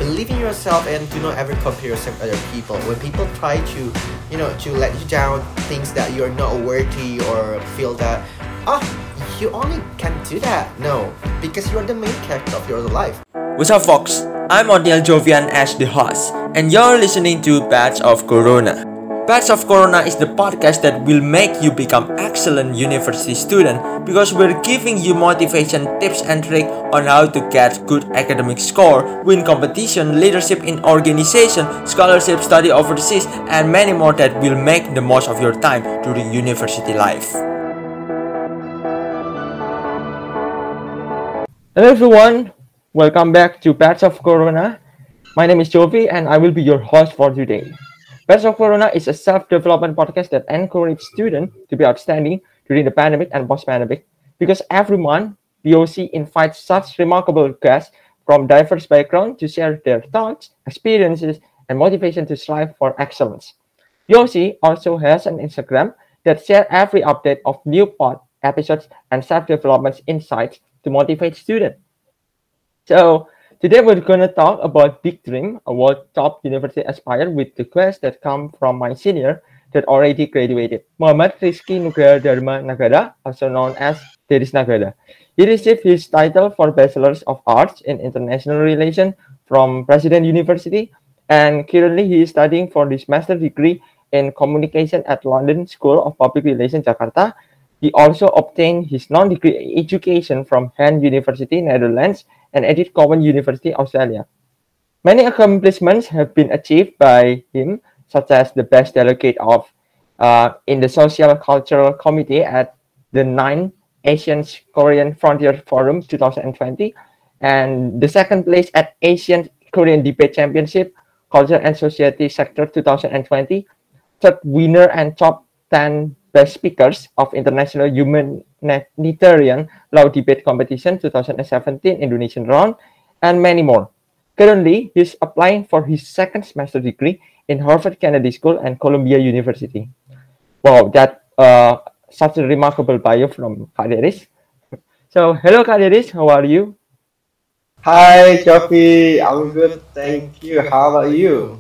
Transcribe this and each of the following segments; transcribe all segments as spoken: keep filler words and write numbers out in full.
believe in yourself and do not ever compare yourself with other people. When people try to, you know, to let you down, things that you're not worthy or feel that, ah, you only can do that. No, because you're the main character of your life. What's up, folks? I'm Odiel Jovian as the host, and you're listening to Batch of Corona. Batch of Corona is the podcast that will make you become excellent university student because we're giving you motivation tips and tricks on how to get good academic score, win competition, leadership in organization, scholarship, study overseas, and many more that will make the most of your time during university life. Hello everyone, welcome back to Batch of Corona. My name is Jovi and I will be your host for today. Batch of Corona is a self-development podcast that encourages students to be outstanding during the pandemic and post-pandemic because every month, B O C invites such remarkable guests from diverse backgrounds to share their thoughts, experiences, and motivation to strive for excellence. B O C also has an Instagram that shares every update of new pod episodes and self-development insights to motivate students. So, today we're going to talk about Big Dream, a world top university aspire with the quest that come from my senior that already graduated, Muhammad Rizky Nugraha Dharma Nagara, also known as Deris Nagara. He received his title for Bachelor's of Arts in International Relations from President University, and currently he is studying for his master degree in Communication at London School of Public Relations, Jakarta. He also obtained his non-degree education from Han University, Netherlands, and Edith Cowan University, Australia. Many accomplishments have been achieved by him, such as the best delegate of uh, in the Social Cultural Committee at the ninth Asian Korean Frontier Forum twenty twenty, and the second place at Asian Korean Debate Championship, Culture and Society Sector twenty twenty, third winner and top ten best speakers of International Humanitarian Law Debate Competition twenty seventeen Indonesian round, and many more. Currently, he's applying for his second semester degree in Harvard Kennedy School and Columbia University. Wow, that uh, such a remarkable bio from Kak Deris. So, hello Kak Deris, how are you? Hi, Jovi. I'm good, thank you. How about you?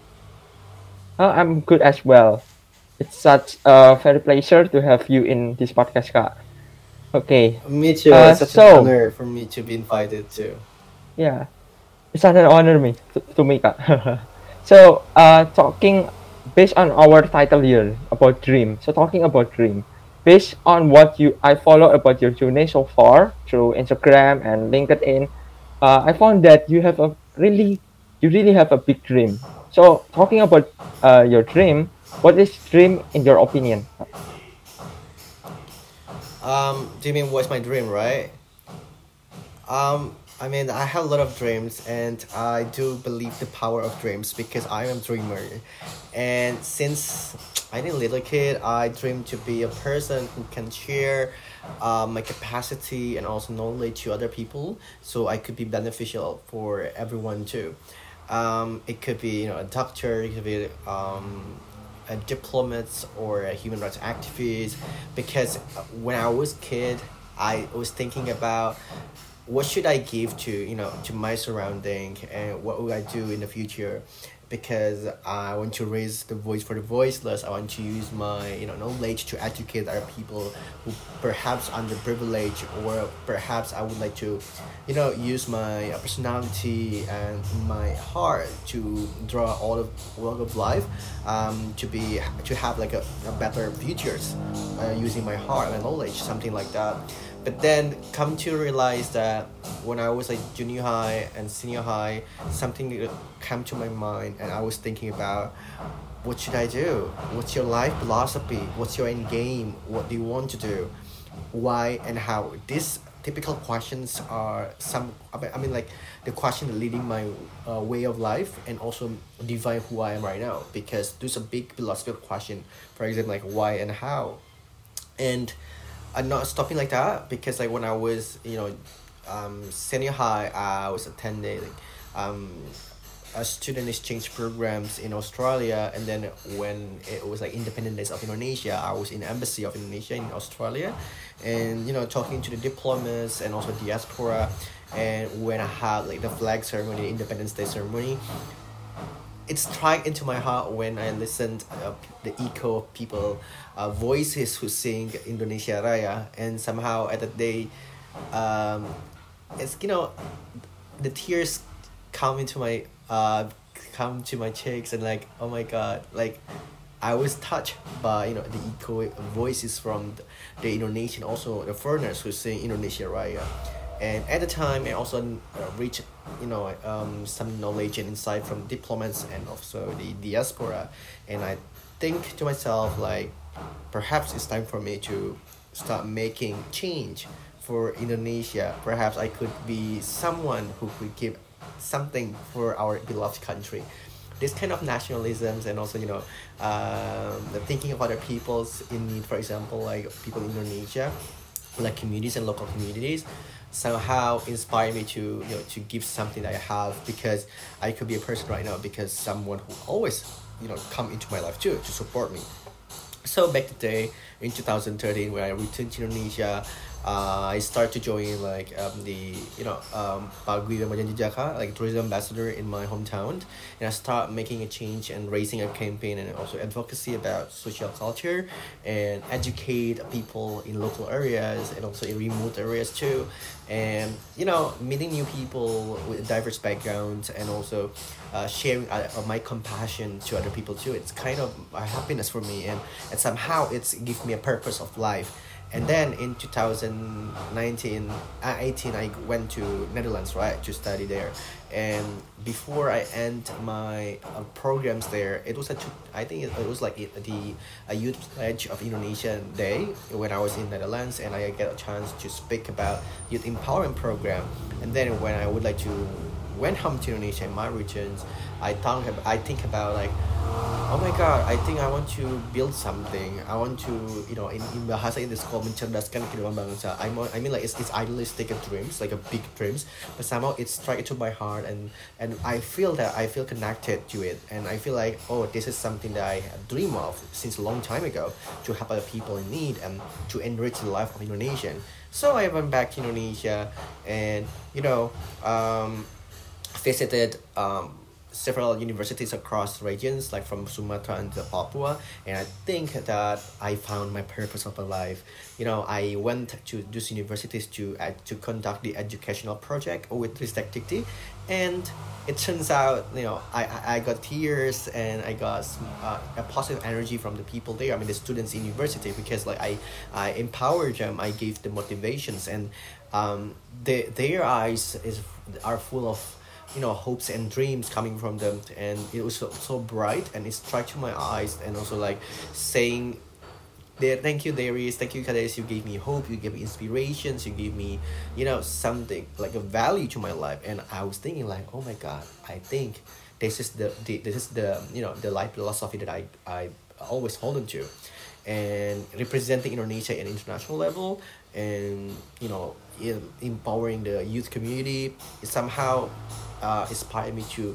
Uh, I'm good as well. It's such a very pleasure to have you in this podcast, Kak. Okay. Me too. Uh, it's such so- an honor for me to be invited too. Yeah, it's such an honor me to, to me, Kak. So, uh, talking based on our title here about dream. So, talking about dream, based on what you I follow about your journey so far through Instagram and LinkedIn, uh, I found that you have a really, you really have a big dream. So, talking about uh, your dream, what is dream in your opinion? Um, do you mean what's my dream, right? Um, I mean, I have a lot of dreams, and I do believe the power of dreams because I am a dreamer. And since I was a little kid, I dreamed to be a person who can share uh, my capacity and also knowledge to other people, so I could be beneficial for everyone too. Um, it could be, you know, a doctor, it could be um, a diplomat or a human rights activist, because when I was kid, I was thinking about what should I give to, you know, to my surrounding, and what would I do in the future, because I want to raise the voice for the voiceless. I want to use my, you know, knowledge to educate other people who perhaps underprivileged, or perhaps I would like to, you know, use my personality and my heart to draw all of walk of life, um, to be to have like a, a better futures, uh, using my heart and knowledge, something like that. But then come to realize that when I was like junior high and senior high, something came to my mind, and I was thinking about, what should I do? What's your life philosophy? What's your end game? What do you want to do? Why and how? These typical questions are some, I mean, I mean like the question leading my uh, way of life, and also define who I am right now, because there's a big philosophical question, for example, like why and how. And I'm not stopping like that, because like when I was, you know, um, senior high, I was attending um, a student exchange programs in Australia, and then when it was like Independence of Indonesia, I was in Embassy of Indonesia in Australia, and you know, talking to the diplomats and also diaspora, and when I have like the flag ceremony, Independence Day ceremony, it struck into my heart when I listened uh, the echo of people, uh, voices who sing Indonesia Raya, and somehow at that day, um, it's you know, the tears come into my uh come to my cheeks and like oh my god, like I was touched by you know the echo voices from the, the Indonesian, also the foreigners who sing Indonesia Raya, and at the time I also uh, reached you know um, some knowledge and insight from diplomats and also the diaspora, and I think to myself like perhaps it's time for me to start making change for Indonesia. Perhaps I could be someone who could give something for our beloved country. This kind of nationalisms and also you know um, the thinking of other people's in need, for example like people in Indonesia, like communities and local communities, somehow inspire me to you know to give something that I have, because I could be a person right now because someone who always you know come into my life too to support me. So back today in two thousand thirteen when I returned to Indonesia, uh, I started to join like um, the you know um, Paguyuban Majan Jejaka, like tourism ambassador in my hometown, and I start making a change and raising a campaign and also advocacy about social culture and educate people in local areas and also in remote areas too, and you know meeting new people with diverse backgrounds and also uh, sharing uh, of my compassion to other people too. It's kind of a happiness for me, and and somehow it's give me a purpose of life. And then in two thousand nineteen, uh, eighteen, I went to Netherlands, right, to study there. And before I end my uh, programs there, it was a, two- I think it, it was like it, the a youth pledge of Indonesian Day when I was in Netherlands, and I get a chance to speak about youth empowerment program. And then when I would like to went home to Indonesia in my regions, I thought ab- I think about like, oh my god, I think I want to build something. I want to, you know, in, in bahasa in this called mencerdaskan kehidupan bangsa. I mo- I mean like it's, it's idealistic of dreams, like a big dreams, but somehow it struck into my heart, and and I feel that I feel connected to it, and I feel like oh this is something that I dream of since a long time ago, to help other people in need and to enrich the life of Indonesian. So I went back to Indonesia, and you know. Um, visited um, several universities across regions, like from Sumatra and to Papua, and I think that I found my purpose of my life. You know, I went to those universities to uh, to conduct the educational project with Ristek Dikti, and it turns out, you know, I, I I got tears and I got some, uh, a positive energy from the people there. I mean, the students in university, because like I I empowered them, I gave them motivations, and um, they, their eyes is are full of you know hopes and dreams coming from them, and it was so, so bright, and it struck to my eyes, and also like saying there, thank you Darius, thank you Kades, you gave me hope, you gave me inspirations, you gave me you know something like a value to my life. And I was thinking like oh my god, I think this is the, the this is the you know the life philosophy that I I always hold on to, and representing Indonesia at international level, and you know in, empowering the youth community, it somehow uh, inspired me to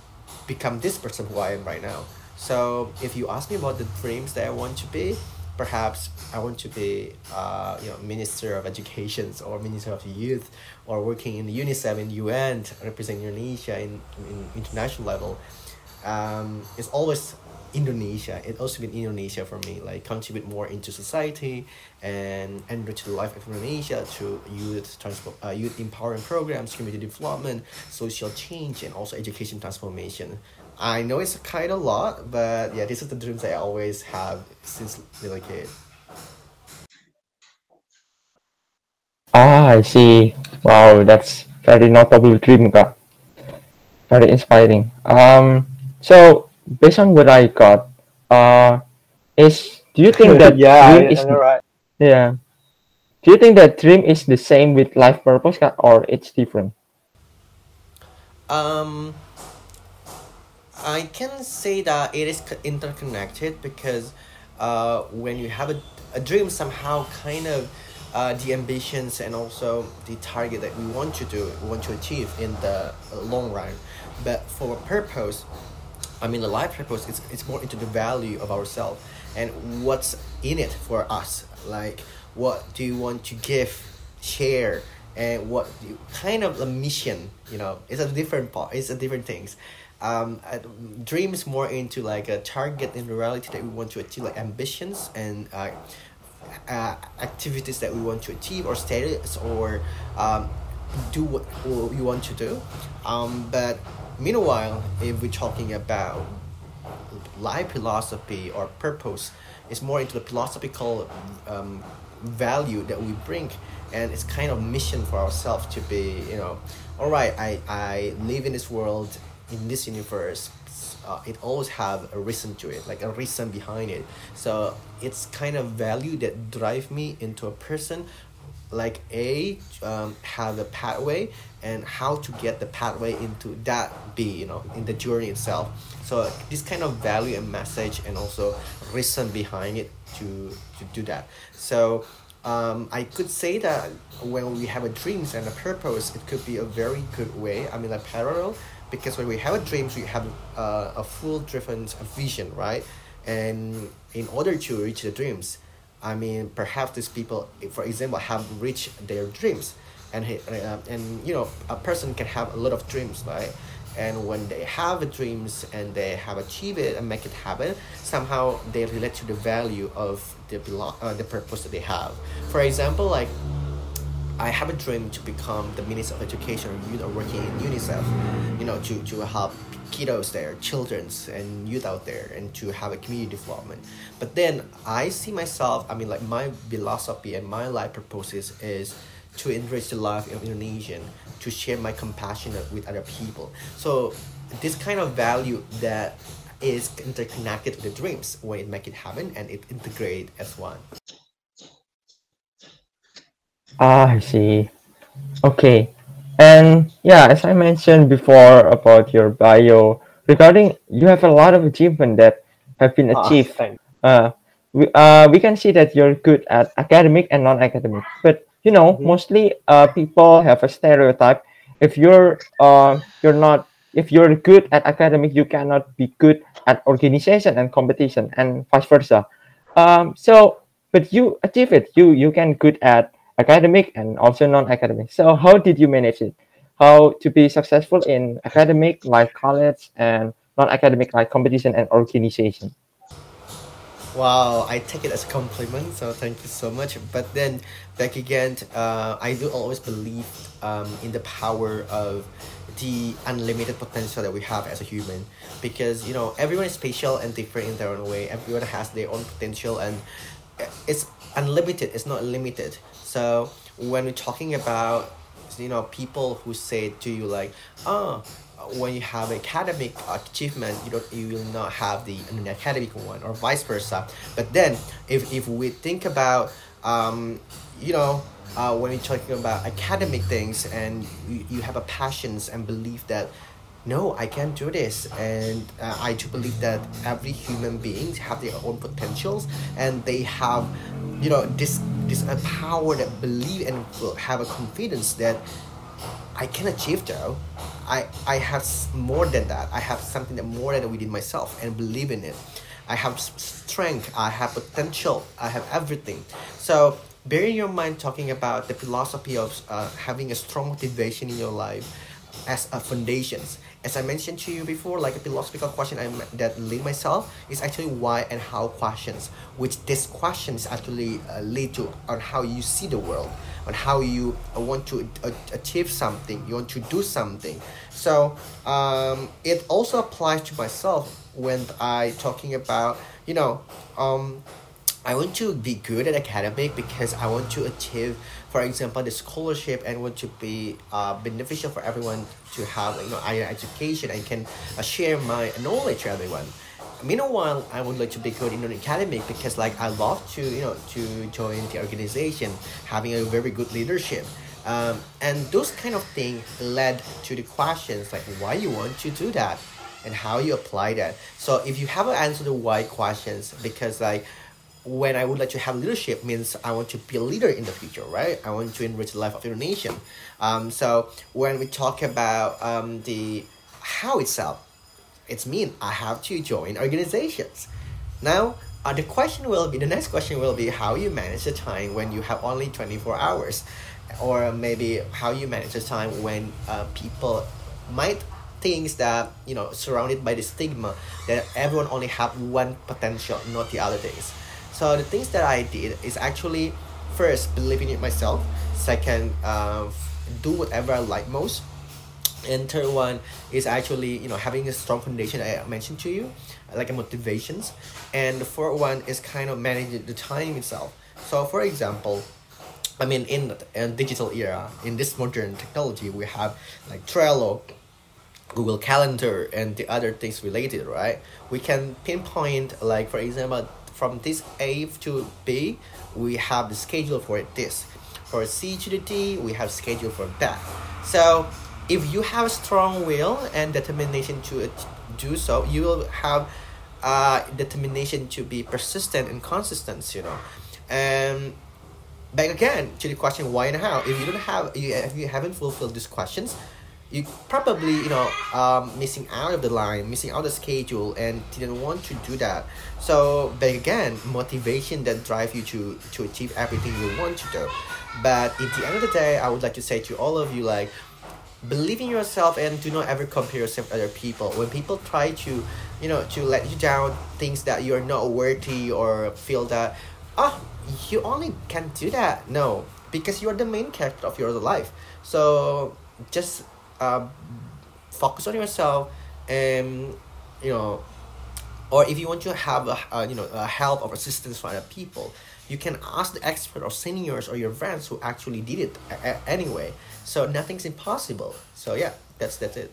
become this person who I am right now. So if you ask me about the dreams that I want to be, perhaps I want to be uh, you know Minister of Education or Minister of Youth, or working in UNICEF in U N representing Indonesia in, in international level. Um, it's always Indonesia. It also been Indonesia for me, like contribute more into society and enrich the life of Indonesia through youth transport, uh, youth empowering programs, community development, social change, and also education transformation. I know it's kind of a lot, but yeah, this is the dreams I always have since little kid. Ah, I see. Wow, that's very notable dream, Kak. Very inspiring. Um, so based on what I got, uh, is do you think that yeah, dream I, is I know, right? yeah? Do you think that dream is the same with life purpose, Kak, or it's different? Um, I can say that it is co- interconnected, because uh, when you have a, a dream, somehow kind of uh, the ambitions and also the target that we want to do, we want to achieve in the uh, long run. But for a purpose, I mean, the life purpose is it's more into the value of ourselves and what's in it for us. Like, what do you want to give, share, and what you, kind of a mission, you know, it's a different part, it's a different things. Um, uh, dreams more into like a target in reality that we want to achieve, like ambitions and uh, uh, activities that we want to achieve or status or um, do what we want to do. Um, but meanwhile, if we're talking about life philosophy or purpose, it's more into the philosophical um, value that we bring, and it's kind of mission for ourselves to be, you know, all right, I, I live in this world, in this universe. Uh, it always have a reason to it, like a reason behind it. So it's kind of value that drive me into a person, like a um, have a pathway and how to get the pathway into that be, you know, in the journey itself. So this kind of value and message and also reason behind it to to do that. So um, I could say that when we have a dreams and a purpose, it could be a very good way, I mean, like parallel, because when we have a dreams we have uh, a full driven vision, right? And in order to reach the dreams, I mean, perhaps these people, for example, have reached their dreams, and he, uh, and you know, a person can have a lot of dreams, right? And when they have the dreams and they have achieved it and make it happen, somehow they relate to the value of the belo- uh, the purpose that they have. For example, like I have a dream to become the Minister of Education or youth or working in UNICEF, you know, to, to help kiddos there, children's and youth out there, and to have a community development. But then I see myself, I mean, like my philosophy and my life purposes is to enrich the life of Indonesian, to share my compassion with other people. So this kind of value that is interconnected to the dreams when it make it happen and it integrate as one. Ah, I see. Okay. And yeah, as I mentioned before about your bio, regarding you have a lot of achievement that have been Ah, achieved. thanks. Uh, we, uh, we can see that you're good at academic and non-academic. But you know, Mhm. mostly uh, people have a stereotype. If you're uh, you're not if you're good at academic, you cannot be good at organization and competition, and vice versa. Um, so, but you achieve it. You you can good at academic and also non-academic. So, how did you manage it? How to be successful in academic like college and non-academic like competition and organization? Wow, I take it as a compliment, so thank you so much. But then, back again, uh, I do always believe um, in the power of the unlimited potential that we have as a human, because you know everyone is special and different in their own way. Everyone has their own potential, and it's unlimited. It's not limited. So when we're talking about, you know, people who say to you like, oh, when you have academic achievement, you don't you will not have the an academic one, or vice versa. But then if, if we think about um, you know, uh, when you're talking about academic things and you, you have a passions and belief that no, I can do this, and uh, I do believe that every human beings have their own potentials, and they have, you know, this this uh, power that believe and will have a confidence that I can achieve though. I I have s- more than that. I have something that more than within myself and believe in it. I have s- strength. I have potential. I have everything. So bear in your mind talking about the philosophy of uh, having a strong motivation in your life as a foundations. As I mentioned to you before, like a philosophical question I m- that lead myself is actually why and how questions, which these questions actually uh, lead to on how you see the world, on how you uh, want to uh, achieve something, you want to do something. So um, it also applies to myself when I talking about, you know, um, I want to be good at academic because I want to achieve, for example, the scholarship, and want to be uh, beneficial for everyone to have, you know, higher education and can uh, share my knowledge to everyone. Meanwhile, I would like to be good in an academic because like I love to, you know, to join the organization, having a very good leadership. Um, and those kind of things led to the questions like why you want to do that and how you apply that. So if you have an answer to why questions, because like when I would like to have leadership means I want to be a leader in the future, right? I want to enrich the life of your nation. Um, so when we talk about um, the how itself, it's mean I have to join organizations. Now, uh, the question will be the next question will be how you manage the time when you have only twenty four hours. or maybe how you manage the time when uh, people might things that you know surrounded by the stigma that everyone only have one potential, not the other things. So the things that I did is actually first believing in myself, second uh, do whatever I like most, and third one is actually you know having a strong foundation I mentioned to you, like a motivations, and the fourth one is kind of managing the time itself. So for example, I mean in a digital era, in this modern technology, we have like Trello, Google Calendar, and the other things related, right? We can pinpoint, like for example, from this A to B, we have the schedule for this. For C to the D, we have schedule for that. So if you have strong will and determination to it, do so, you will have uh, determination to be persistent and consistent, you know. And back again to the question why and how. If you don't have, you, if you haven't fulfilled these questions, you probably you know um, missing out of the line, missing out the schedule, and didn't want to do that. So back again, motivation that drive you to to achieve everything you want to do. But at the end of the day, I would like to say to all of you, like, believe in yourself and do not ever compare yourself with other people. When people try to you know to let you down, things that you're not worthy, or feel that oh you only can do that, no, because you're the main character of your life. So just uh, focus on yourself, and you know or if you want to have a, uh, you know a help or assistance from other people, you can ask the expert or seniors or your friends who actually did it a- a- anyway. So nothing's impossible. So yeah, that's that's it.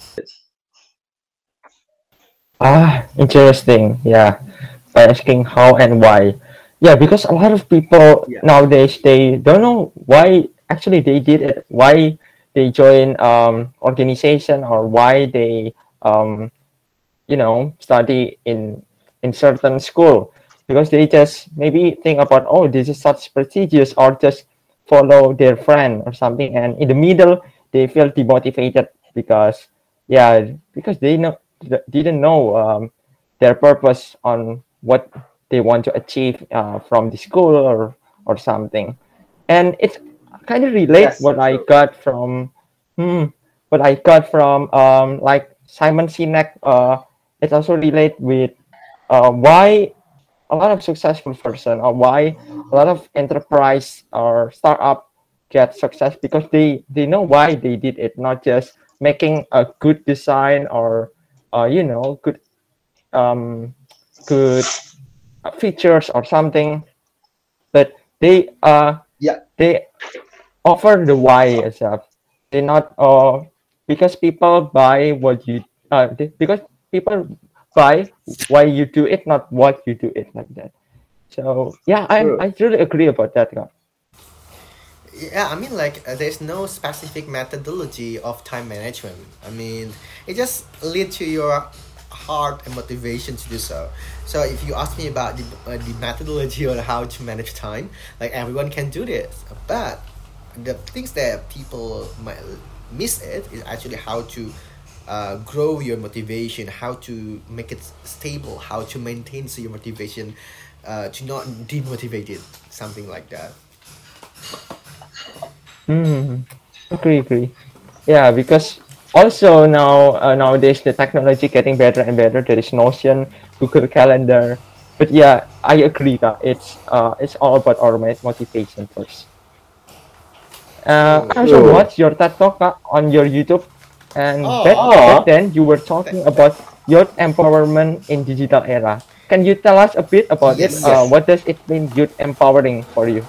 Ah, interesting. Yeah, by asking how and why. Yeah, because a lot of people Yeah. nowadays they don't know why actually they did it, why they join um organization, or why they um you know study in in certain school, because they just maybe think about, oh, this is such prestigious, or just follow their friend or something, and in the middle they feel demotivated because yeah, because they know didn't know um, their purpose on what they want to achieve uh, from the school, or or something. And it's kind of relate Yes, what that's I true. got from hmm, what I got from um like Simon Sinek. Uh, it also relate with uh, why a lot of successful person, or why a lot of enterprise or startup get success, because they they know why they did it, not just making a good design, or uh, you know good um good features or something, but they uh Yeah. they offer the why itself. They not uh because people buy what you uh they, because people buy why you do it, not what you do it, like that. So yeah, I True. I really agree about that, guy. Yeah, I mean, like, uh, there's no specific methodology of time management. I mean, it just lead to your heart and motivation to do so. So if you ask me about the, uh, the methodology on how to manage time, like, everyone can do this. But the things that people might miss it is actually how to uh, grow your motivation, how to make it stable, how to maintain so your motivation, uh, to not demotivate it, something like that. Hmm. Agree, agree. Yeah, because also now uh, nowadays the technology getting better and better. There is Notion, Google Calendar, but yeah, I agree that it's uh it's all about our mo- motivation first. Uh, I True. also True. watched your TED talk uh, on your YouTube, and back Oh, back Oh, then you were th- talking about youth empowerment in digital era. Can you tell us a bit about it? yes. Uh, yes. what does it mean, youth empowering for you?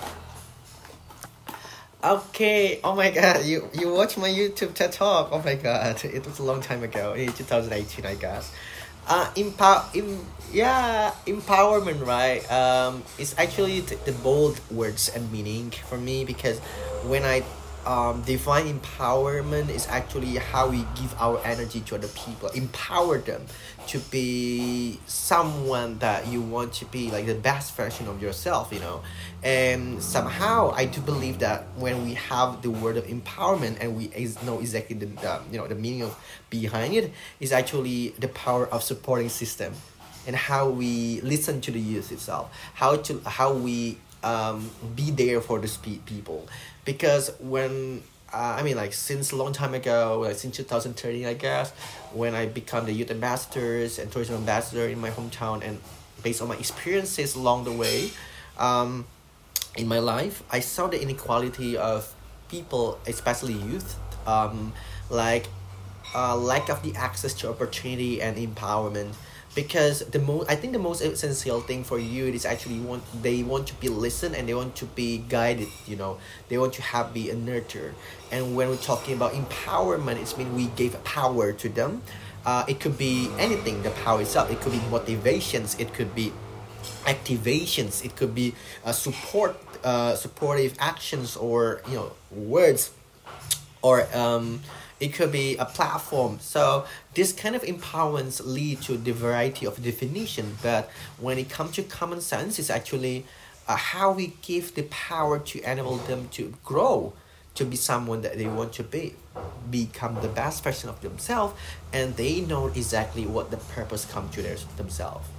Okay. Oh my God. You you watch my YouTube TED Talk. Oh my God. It was a long time ago. In twenty eighteen, I guess. Uh, empower. Em- yeah, empowerment. Right. Um, it's actually the, the bold words and meaning for me, because when I um define empowerment is actually how we give our energy to other people, empower them to be someone that you want to be, like the best version of yourself, you know. And somehow I do believe that when we have the word of empowerment and we ex- know exactly the, the you know the meaning of behind it, is actually the power of supporting system, and how we listen to the youth itself, how to how we um, be there for these pe- people, because when uh, I mean, like since a long time ago, like since two thousand thirteen, I guess, when I become the youth ambassadors and tourism ambassador in my hometown, and based on my experiences along the way, um, in my life, I saw the inequality of people, especially youth, um, like uh, lack of the access to opportunity and empowerment. Because the most, I think the most essential thing for youth is actually want they want to be listened and they want to be guided. You know, they want to have be a nurture. And when we're talking about empowerment, it's mean we gave power to them. Uh, it could be anything. The power itself. It could be motivations. It could be activations. It could be uh, support, uh, supportive actions, or you know words, or um, it could be a platform. So this kind of empowerments lead to the variety of definition. But when it comes to common sense, it's actually uh, how we give the power to enable them to grow, to be someone that they want to be, become the best version of themselves, and they know exactly what the purpose come to their, themselves.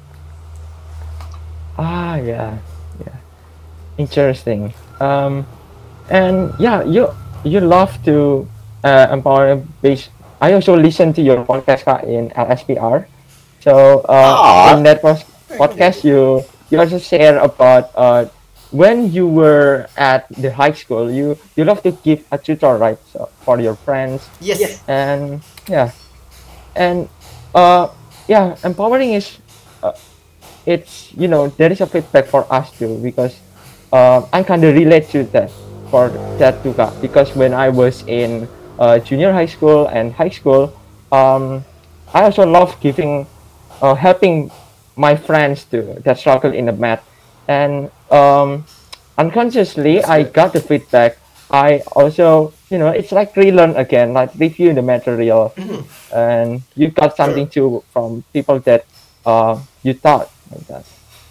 Ah, yeah, yeah, interesting. Um, and yeah, you you love to uh, empower base. I also listen to your podcast Kak, in L S P R. So uh, in Ah, that pos- Very podcast, cool. you you also share about uh, when you were at the high school. You you love to give a tutor, right? So for your friends, Yes. and yeah, and uh, yeah, empowering is uh, it's you know there is a feedback for us too because uh, I kind of relate to that for that too Kak. Because when I was in uh, junior high school and high school, um, I also love giving uh, helping my friends too that struggle in the math, and um, unconsciously That's I good. got the feedback. I also you know it's like relearn again, like review the material, and you got something too from people that uh, you taught like that.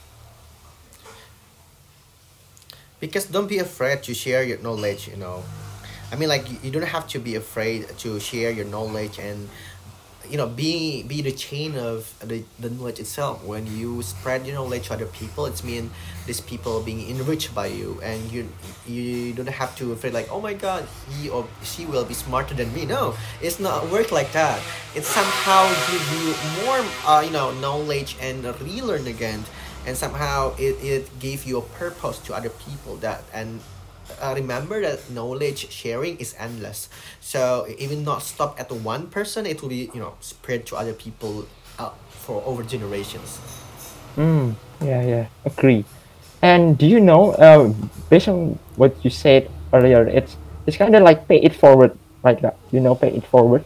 Because don't be afraid to share your knowledge, you know. I mean, like, you you don't have to be afraid to share your knowledge, and you know be be the chain of the, the knowledge itself. When you spread your knowledge to other people, it's mean these people being enriched by you, and you you don't have to feel like, oh my god, he or she will be smarter than me. No, it's not work like that. It somehow give you more uh, you know knowledge and relearn again, and somehow it, it gave you a purpose to other people. That and uh, remember that knowledge sharing is endless. So even not stop at one person, it will be you know spread to other people uh, for over generations. Mm, yeah, yeah, agree. And do you know, uh, based on what you said earlier, it's it's kind of like pay it forward, right? That you know, pay it forward.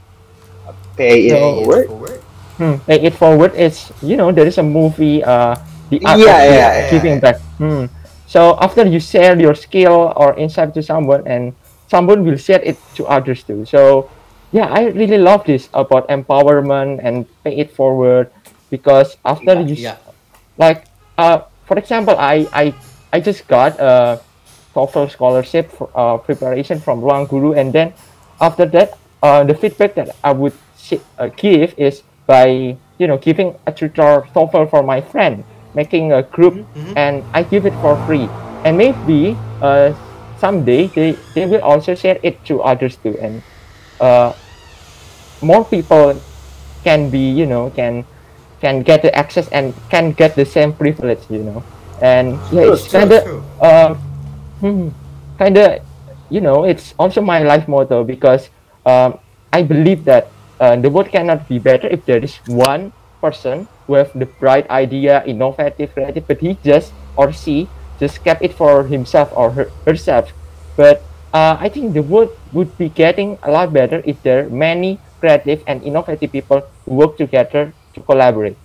pay it Pay So, it forward. forward. hmm, pay it forward is you know there is a movie, uh, the art of Yeah, gi- yeah, Yeah, giving yeah. back. Hmm. So after you share your skill or insight to someone, and someone will share it to others too. So yeah, I really love this about empowerment and pay it forward because after Yeah, you yeah. like uh for example i i i just got a TOEFL scholarship for, uh, preparation from Ruang Guru, and then after that uh the feedback that I would si- uh, give is by you know giving a tutor TOEFL for my friend, making a group, Mm-hmm. and I give it for free, and maybe uh someday they they will also share it to others too, and uh more people can be you know can can get the access and can get the same privilege you know and yeah true, it's True, kind true. of true. um kind of you know it's also my life motto because um I believe that uh, the world cannot be better if there is one person who have the bright idea, innovative, creative, but he just or she just kept it for himself or her, herself. But uh, I think the world would be getting a lot better if there are many creative and innovative people who work together to collaborate.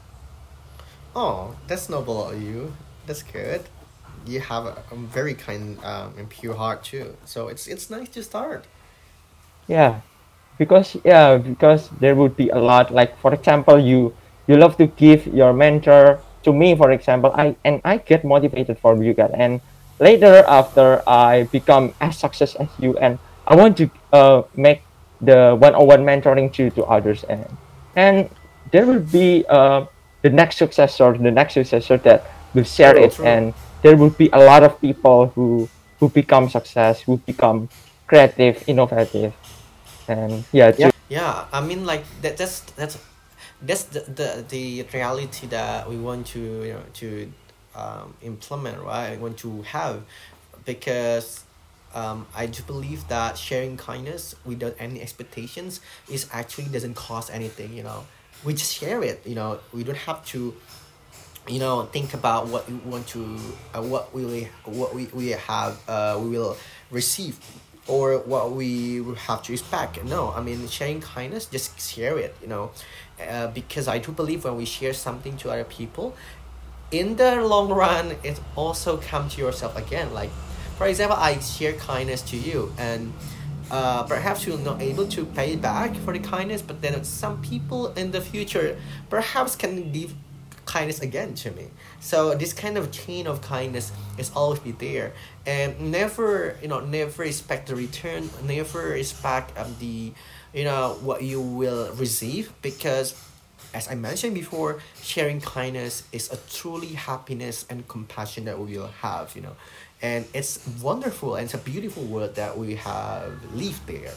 Oh, that's noble of you. That's good. You have a, a very kind um, and pure heart too. So it's it's nice to start. Yeah, because yeah, because there would be a lot. Like for example, you you love to give your mentor to me, for example, I and I get motivated from you guys. And later, after I become as success as you, and I want to uh make the one-on-one mentoring to to others, and and there will be uh the next successor, the next successor that will share True, it, true. and there would be a lot of people who who become success, who become creative, innovative, and yeah, Yeah. to Yeah, I mean like that. That's that's that's the, the the reality that we want to you know to um, implement, right? We want to have, because um, I do believe that sharing kindness without any expectations is actually doesn't cost anything. You know, we just share it. You know, we don't have to you know think about what we want to uh, what we will- what we, we have uh, we will receive, or what we will have to expect. No, I mean sharing kindness, just share it, you know uh, because I do believe when we share something to other people, in the long run it also come to yourself again. Like, for example, I share kindness to you, and uh, perhaps you're not able to pay back for the kindness, but then some people in the future perhaps can give kindness again to me. So this kind of chain of kindness is always be there, and never you know never expect the return, never expect um, the you know what you will receive, because as I mentioned before, sharing kindness is a truly happiness and compassion that we will have, you know. And it's wonderful, and it's a beautiful world that we have lived there.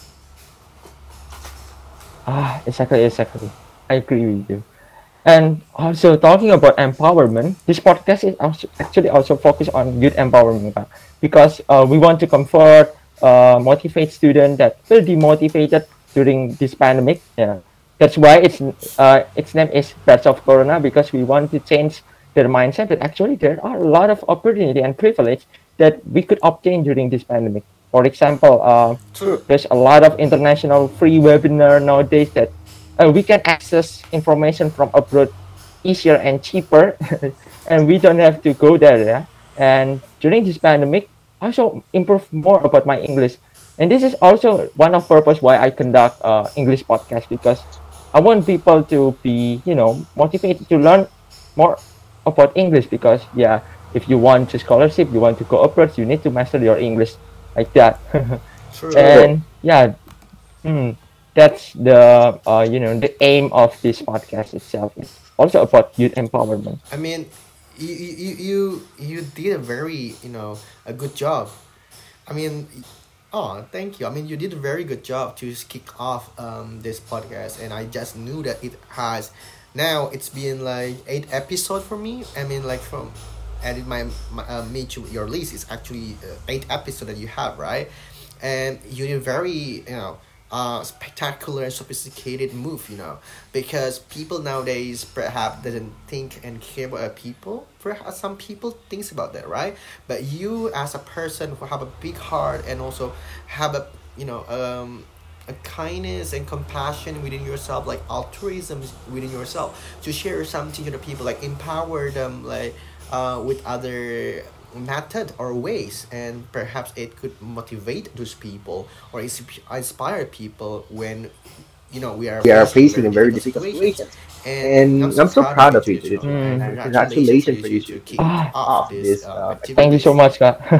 ah exactly exactly. I agree with you. And also talking about empowerment, this podcast is also actually also focused on youth empowerment, Kak. Because uh, we want to comfort, uh, motivate students that feel demotivated during this pandemic. Yeah, that's why it's uh, its name is Bats of Corona, because we want to change their mindset that actually there are a lot of opportunity and privilege that we could obtain during this pandemic. For example, uh, True. there's a lot of international free webinar nowadays that uh, we can access information from abroad easier and cheaper, and we don't have to go there. Yeah? And during this pandemic, I also improve more about my English, and this is also one of purpose why I conduct uh, English podcast, because I want people to be you know motivated to learn more about English, because yeah, if you want to scholarship, you want to go abroad, you need to master your English like that. True. True. And yeah, mm, that's the uh, you know the aim of this podcast itself. It's also about youth empowerment. I mean, you you you you did a very you know a good job. I mean, oh, thank you. I mean, you did a very good job to kick off um this podcast, and I just knew that it has. Now it's been like eight episode for me. I mean, like from added my, my uh, made to your list, it's actually uh, eight episode that you have, right? And you did very you know uh spectacular and sophisticated move, you know, because people nowadays perhaps doesn't think and care about other people. Perhaps some people thinks about that, right? But you as a person who have a big heart, and also have a you know um a kindness and compassion within yourself, like altruism within yourself, to share something to the people, like empower them, like uh with other method or ways, and perhaps it could motivate those people, or ins- inspire people when you know we are We are facing facing very a very difficult difficult situations. situation. And I'm And so I'm so proud of proud you of to you you to, know to and Mm. and congratulations for congratulations you for to you to to, to kick kick Ah, off off this this um, um, thank you so activities. much, Kak.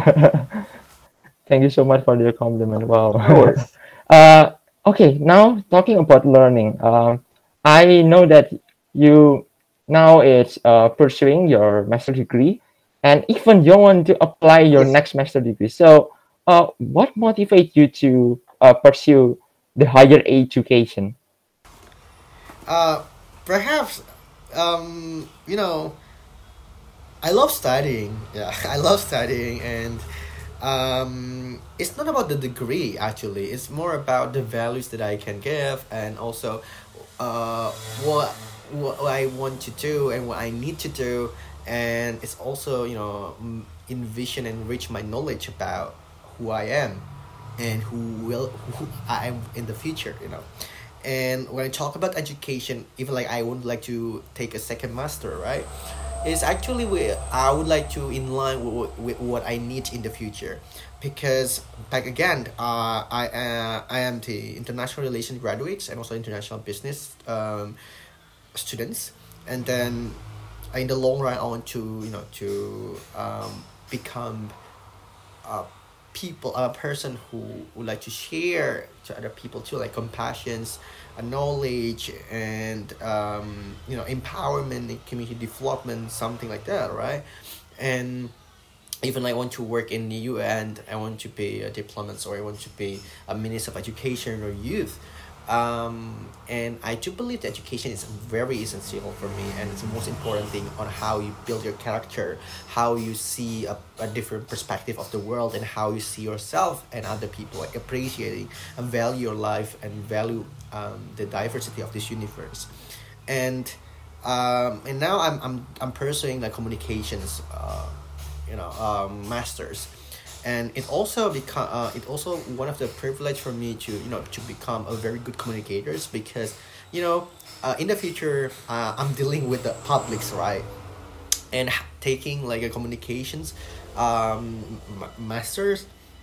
Thank you so much for your compliment. Wow. no worries. uh, okay, now talking about learning. Um, I know that you now it's uh, pursuing your master degree, and even you want to apply your Yes. next master degree. So, uh, what motivates you to uh, pursue the higher education? Uh, Perhaps um, you know I love studying. Yeah, I love studying, and um, it's not about the degree actually. It's more about the values that I can give, and also uh, what what I want to do and what I need to do, and it's also you know mm, envision and enrich my knowledge about who I am, and who will who I am in the future. You know. And when I talk about education, even like I would like to take a second master, right? It's actually where I would like to in line with, with what I need in the future, because back again, uh, I uh, I am the international relations graduates and also international business um, students, and then in the long run, I want to you know to um, become uh, people a person who would like to share to other people too, like compassions, uh, knowledge, and um, you know empowerment and community development, something like that, right? And even I want to work in the U N, I want to be a diplomat, or I want to be a minister of education or youth. Um, and I do believe that education is very essential for me, and it's the most important thing on how you build your character, how you see a, a different perspective of the world, and how you see yourself and other people, like appreciating and value your life and value um, the diversity of this universe. And um, and now I'm I'm I'm pursuing the communications, uh, you know, um, masters, and it also become uh, it also one of the privilege for me to you know to become a very good communicators, because you know uh, in the future uh, I'm dealing with the publics, right? And h- taking like a communications um, m- masters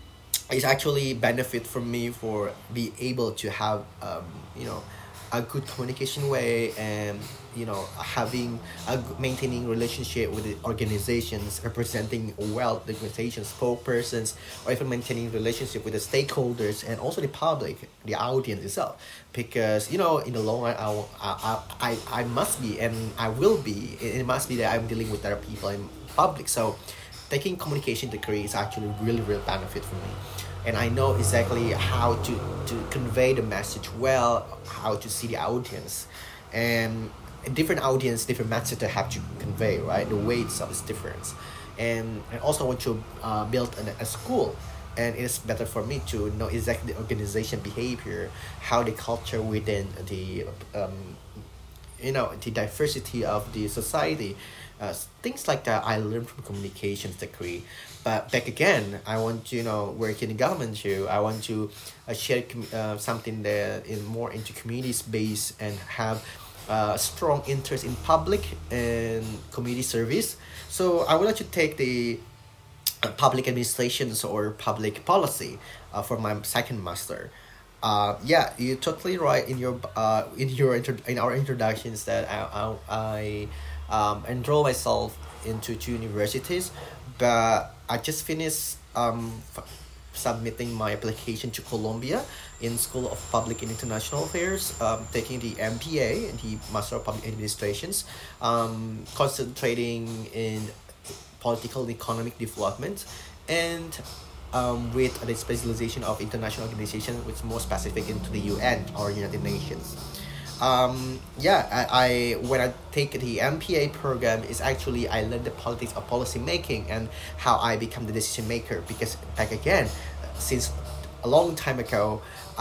is actually benefit for me for be able to have um, you know a good communication way, and you know having a g- maintaining relationship with the organizations, representing well the organizations spokespersons, or even maintaining relationship with the stakeholders and also the public, the audience itself. Because you know in the long run I, will- I, I, I I must be, and I will be, it it must be that I'm dealing with other people in public. So taking communication degree is actually really real benefit for me, and I know exactly how to to convey the message well, how to see the audience, and different audience, different message they have to convey, right? The way itself is different, and I also want to uh, build an, a school, and it's better for me to know exactly the organization behavior, how the culture within the um, you know the diversity of the society, uh, things like that I learned from communications degree. But back again, I want to you know work in the government too. I want to uh, share com- uh, something that is more into community space, and have uh, a strong interest in public and community service. So I would like to take the uh, public administrations or public policy uh, for my second master. Uh, yeah, you're totally right in your uh, in your intro- in our introductions that I I, I um, enroll myself into two universities, but I just finished um, f- submitting my application to Columbia in School of Public and International Affairs, um, taking the M P A, the Master of Public Administrations, um, concentrating in political and economic development, and um, with the specialization of international organization, which is more specific into the U N or United Nations. Um, yeah, I, I when I take the M P A program, is actually I learned the politics of policy making and how I become the decision maker. Because back again, since a long time ago,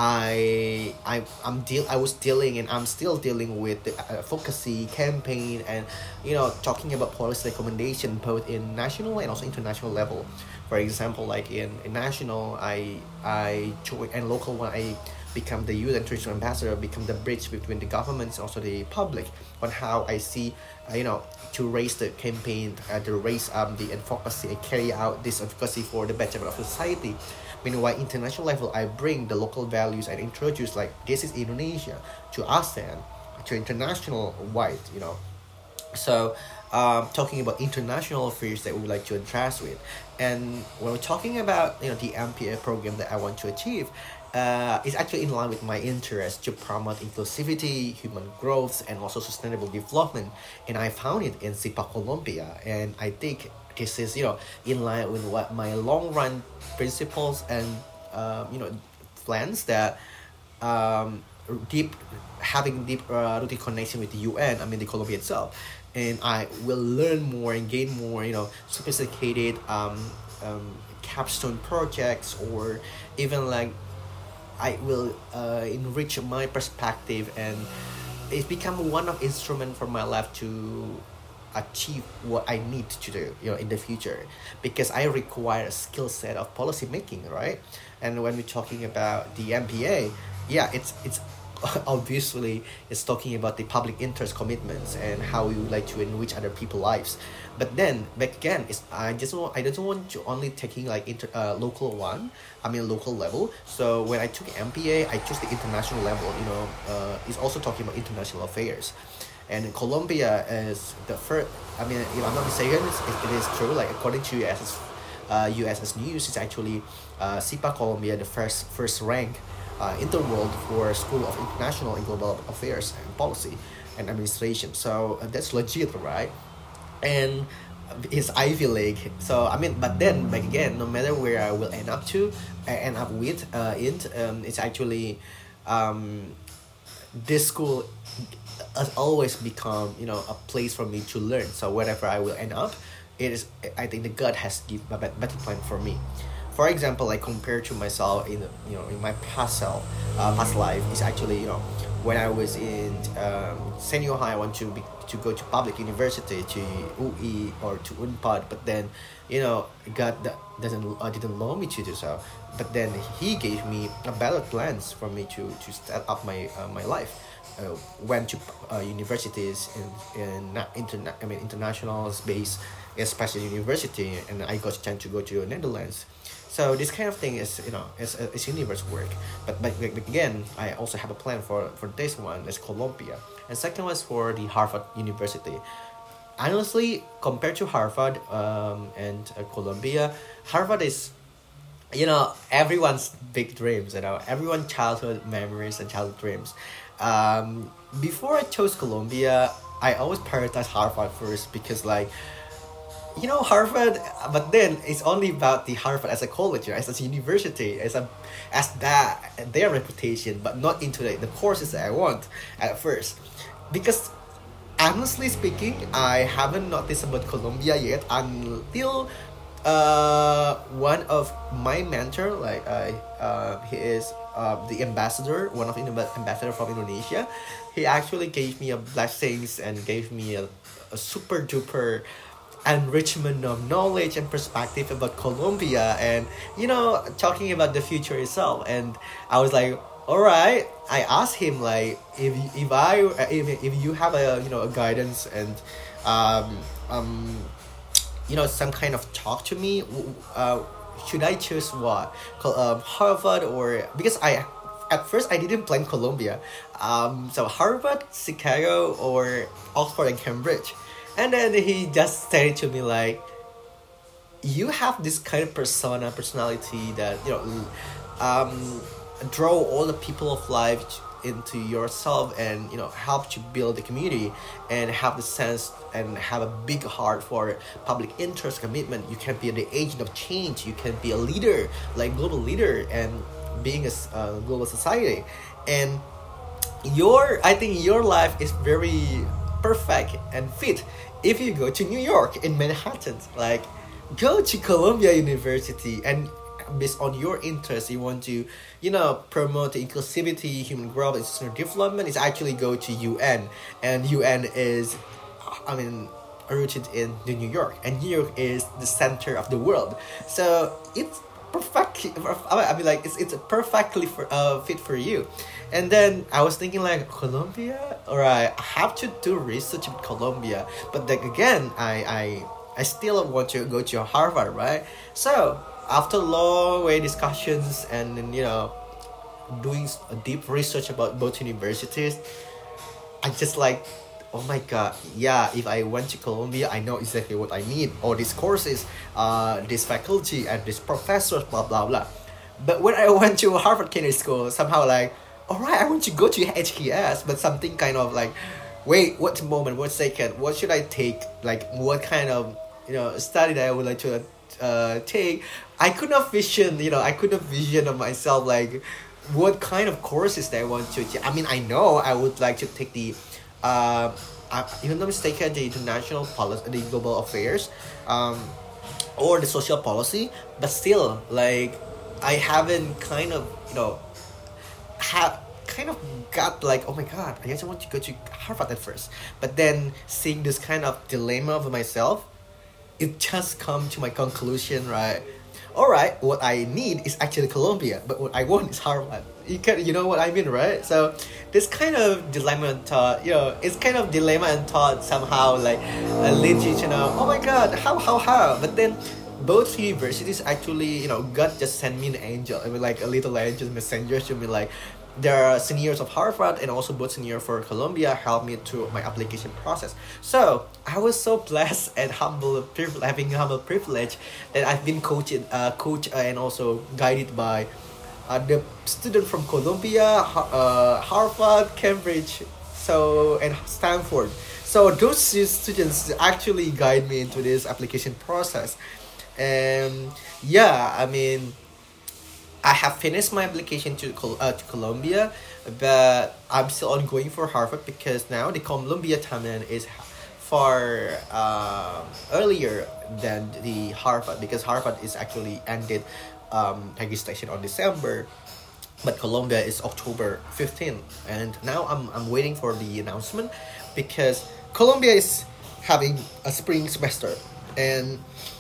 I I I'm deal I was dealing, and I'm still dealing with the uh, advocacy campaign, and you know talking about policy recommendation both in national and also international level. For example, like in, in national, I I join, and local one I become the youth and traditional ambassador, become the bridge between the governments and also the public on how I see, uh, you know, to raise the campaign, uh, to raise um the advocacy and carry out this advocacy for the betterment of society. Meanwhile, international level, I bring the local values and introduce like this is Indonesia to ASEAN, to international wide, you know. So, um, talking about international affairs that we would like to address with, and when we're talking about you know the M P A program that I want to achieve, uh, it's actually in line with my interest to promote inclusivity, human growth, and also sustainable development. And I found it in SIPA Colombia, and I think this is you know in line with what my long run principles and um, you know plans that um, deep having deep uh, rooted connection with the U N. I mean the Colombia itself, and I will learn more and gain more. You know, sophisticated um, um, capstone projects, or even like I will uh, enrich my perspective, and it's become one of instrument for my life to achieve what I need to do, you know, in the future, because I require a skill set of policy making, right? And when we're talking about the M P A, yeah, it's it's obviously it's talking about the public interest commitments and how we would like to enrich other people's lives. But then back again, it's I just want I don't want to only taking like inter uh, local one, I mean local level. So when I took M P A, I chose the international level. You know, uh, it's also talking about international affairs. And Colombia is the first. I mean, if I'm not mistaken, it's, it, it is true. Like according to U S, uh, U S S News, it's actually uh, SIPA Colombia the first first rank uh, in the world for School of International and Global Affairs and Policy and Administration. So uh, that's legit, right? And is Ivy League. So I mean, but then back again, no matter where I will end up to, I end up with uh, it, um, it's actually, um, this school has always become, you know, a place for me to learn. So wherever I will end up, it is, I think the God has give a bet- better plan for me. For example, like compared to myself in, you know, in my past self, uh, past life is actually, you know, when I was in, um, senior high, I want to be to go to public university, to U I or to Unpad, but then, you know, God that doesn't uh, didn't allow me to do so. But then He gave me a better plans for me to to start up my uh, my life. Uh, went to uh, universities in in na- interna- I mean international space, especially university, and I got a chance to go to Netherlands. So this kind of thing is, you know, it's, it's universe work. But, but but again, I also have a plan for for this one. It's Columbia, and second was for the Harvard University. Honestly, compared to Harvard, um, and uh, Columbia, Harvard is, you know, everyone's big dreams, you know, everyone's childhood memories and childhood dreams. Um, before I chose Columbia, I always prioritize Harvard first because, like, you know, Harvard, but then it's only about the Harvard as a college, right? As a university, as a as that their reputation, but not into the, the courses that I want at first. Because honestly speaking, I haven't noticed about Columbia yet until uh one of my mentor, like I uh he is uh the ambassador, one of the amb- ambassador from Indonesia. He actually gave me a blessings and gave me a, a super duper enrichment of knowledge and perspective about Colombia, and, you know, talking about the future itself. And I was like, all right. I asked him, like, if if I if, if you have a, you know, a guidance and, um um you know, some kind of talk to me, w- uh should I choose what, Co- um, Harvard, or because I at first I didn't plan Colombia, um so Harvard, Chicago, or Oxford and Cambridge. And then he just said it to me like, you have this kind of persona, personality that, you know, um, draw all the people of life into yourself, and, you know, help to build the community, and have the sense and have a big heart for public interest commitment. You can be the agent of change. You can be a leader, like global leader, and being a s- uh, global society. And your I think your life is very perfect and fit if you go to New York in Manhattan. Like, go to Columbia University, and based on your interest, you want to, you know, promote the inclusivity, human growth, and sustainable development, is actually go to U N. And U N is, I mean, rooted in the New York, and New York is the center of the world. So it's perfect. I mean, like, it's it's perfectly for, uh, fit for you. And then I was thinking, like, Colombia, all right, I have to do research with Colombia. But then again, I I I still want to go to Harvard, right? So after long way discussions, and, you know, doing s- a deep research about both universities, I just like, oh my god, yeah, if I went to Columbia, I know exactly what I need. All these courses, uh, this faculty, and this professors, blah, blah, blah. But when I went to Harvard Kennedy School, somehow like, all right, I want to go to H K S, but something kind of like, wait, what moment, what second, what should I take? Like, what kind of, you know, study that I would like to uh, take? I could not vision, you know, I could not vision of myself, like, what kind of courses that I want to take. I mean, I know I would like to take the, uh, uh, if I'm not mistaken, the international policy, the global affairs, um, or the social policy, but still, like, I haven't kind of, you know, have kind of got like, oh my god, I just want to go to Harvard at first. But then seeing this kind of dilemma of myself, it just come to my conclusion, right? All right, what I need is actually Columbia, but what I want is Harvard. You can, you know what I mean, right? So this kind of dilemma and thought, you know, it's kind of dilemma and thought somehow like uh, leads you to know, oh my god, how, how, how? But then both universities actually, you know, God just sent me an angel. I mean, like a little angel messenger to me, like, there are seniors of Harvard and also both senior for Columbia helped me through my application process. So I was so blessed and humble, priv- having humble privilege that I've been coached, uh, coached uh, and also guided by uh, the student from Columbia, Ha- uh, Harvard, Cambridge, so and Stanford. So those students actually guide me into this application process. And yeah, I mean, I have finished my application to Col- uh, to Columbia, but I'm still ongoing for Harvard because now the Columbia timeline is far uh, earlier than the Harvard, because Harvard is actually ended um, registration on December, but Colombia is October fifteenth, and now I'm, I'm waiting for the announcement because Colombia is having a spring semester, and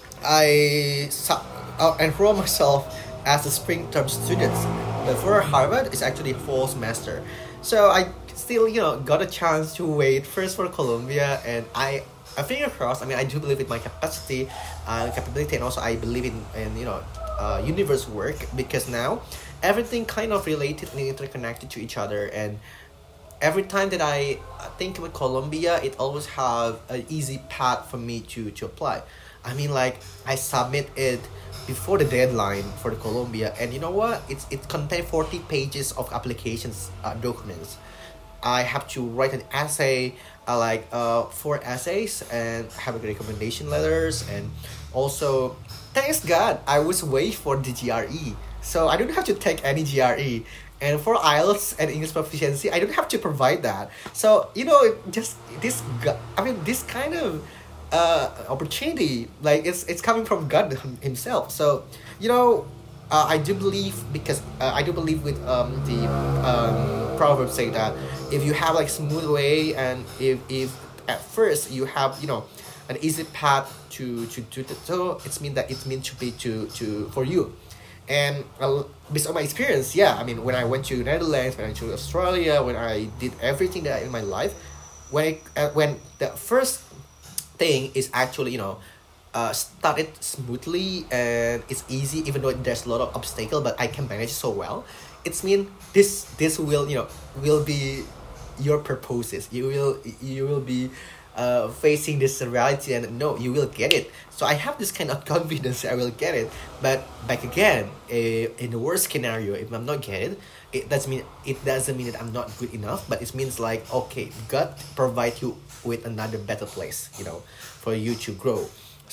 I su- uh, enroll myself as a spring term student. But for Harvard, it's actually fall semester, so I still you know got a chance to wait first for Colombia, and I. I finger crossed. I mean, I do believe in my capacity, uh, capability, and also I believe in, in you know, uh, universe work, because now everything kind of related and interconnected to each other, and every time that I think about Colombia, it always have an easy path for me to to apply. I mean, like I submit it before the deadline for the Colombia, and you know what? It's it contains forty pages of applications uh, documents. I have to write an essay, uh, like uh, four essays, and have a recommendation letters, and also, thanks God, I was waiting for the G R E, so I don't have to take any G R E. And for I E L T S and English proficiency, I don't have to provide that. So you know, just this, go- I mean, this kind of uh, opportunity, like it's it's coming from God Himself. So you know, uh, I do believe, because uh, I do believe with um, the um, proverb saying that if you have like smooth way, and if if at first you have you know an easy path to to to, to so it's mean that it means to be to to for you. And uh, based on my experience, yeah, I mean, when I went to Netherlands, when I went to Australia, when I did everything that in my life, when I, uh, when the first thing is actually you know uh, started smoothly and it's easy, even though there's a lot of obstacle, but I can manage so well. It's mean this this will you know will be your purposes. You will you will be uh, facing this reality, and no, you will get it. So I have this kind of confidence I will get it. But back again, eh, in the worst scenario, if I'm not get it, it doesn't mean it doesn't mean that I'm not good enough. But it means like, okay, God provide you with another better place, you know, for you to grow.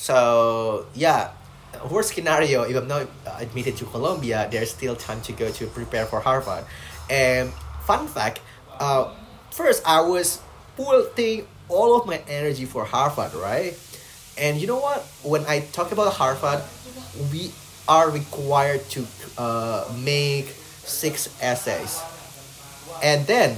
So yeah, worst scenario, if I'm not uh, admitted to Columbia, there's still time to go to prepare for Harvard. And fun fact, uh, first I was putting all of my energy for Harvard, right? And you know what? When I talk about Harvard, we are required to uh, make six essays. And then,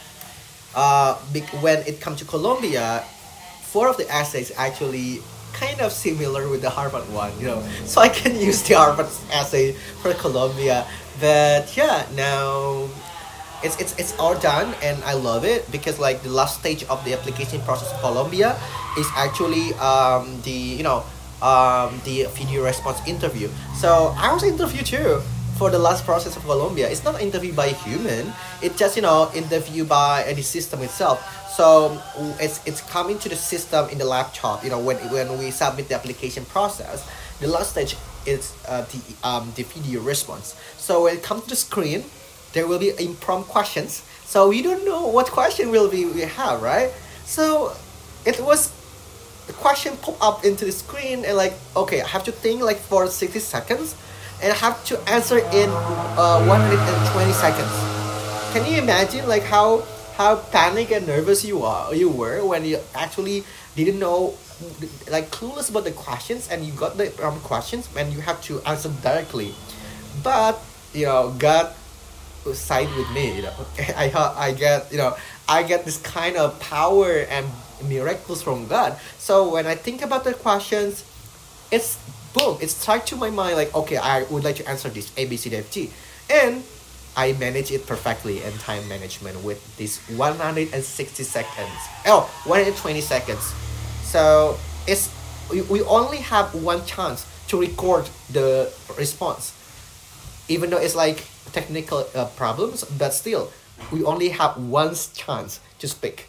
uh, bec- when it comes to Columbia, four of the essays actually kind of similar with the Harvard one, you know. So I can use the Harvard essay for Columbia. But yeah, now it's it's it's all done, and I love it, because like the last stage of the application process of Colombia is actually um the you know um the video response interview. So I was interviewed too for the last process of Colombia. It's not interviewed by a human. It's just you know interview by uh, the system itself. So it's it's coming to the system in the laptop. You know when when we submit the application process, the last stage is uh, the um the video response. So when it comes to the screen, there will be impromptu questions. So we don't know what question will be we have, right? So it was the question pop up into the screen, and like, okay, I have to think like for sixty seconds, and I have to answer in uh, one hundred twenty seconds. Can you imagine like how how panic and nervous you are you were when you actually didn't know, like clueless about the questions, and you got the um, questions and you have to answer directly. But you know, God side with me, you know. I ha- I get you know I get this kind of power and miracles from God. So when I think about the questions, it's boom, it's stuck to my mind, like, okay, I would like to answer this A B C D F G, and I manage it perfectly. And time management with this one hundred sixty seconds, oh one hundred twenty seconds. So it's we, we only have one chance to record the response, even though it's like technical uh, problems, but still we only have one chance to speak.